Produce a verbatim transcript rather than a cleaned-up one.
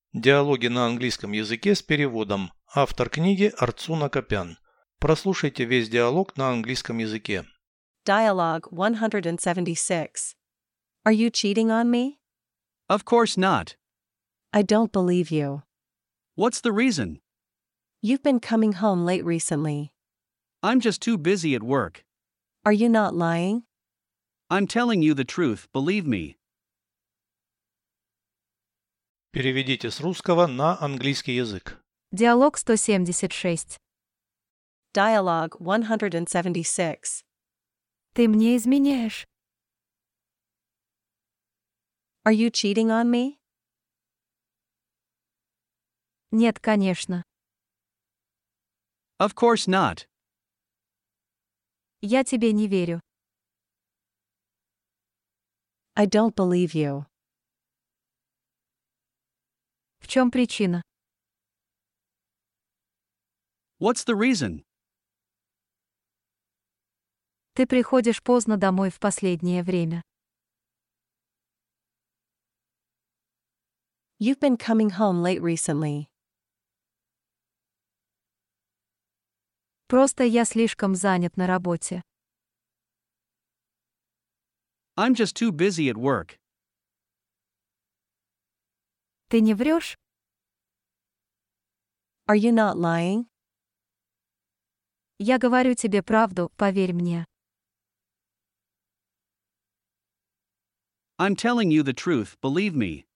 Диалоги на английском языке с переводом. Автор книги Арцуна Копян. Прослушайте весь диалог на английском языке. Dialogue one seventy-six. Are you cheating on me? Of course not. I don't believe you. What's the reason? You've been coming home late recently. I'm just too busy at work. Are you not lying? I'm telling you the truth, believe me. Переведите с русского на английский язык. Диалог сто семьдесят шесть. Dialogue one seventy-six. Ты мне изменяешь. Are you cheating on me? Нет, конечно. Of course not. Я тебе не верю. I don't believe you. В чем причина? What's the reason? Ты приходишь поздно домой в последнее время. You've been coming home late recently. Просто я слишком занят на работе. I'm just too busy at work. Ты не врешь? Are you not lying? Я говорю тебе правду, поверь мне. I'm telling you the truth, believe me.